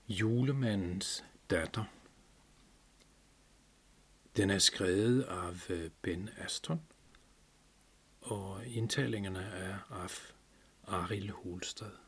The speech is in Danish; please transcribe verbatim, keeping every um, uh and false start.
Julemandens datter. Den er skrevet af Ben Aston, og indtalingerne er af Arild Holstad.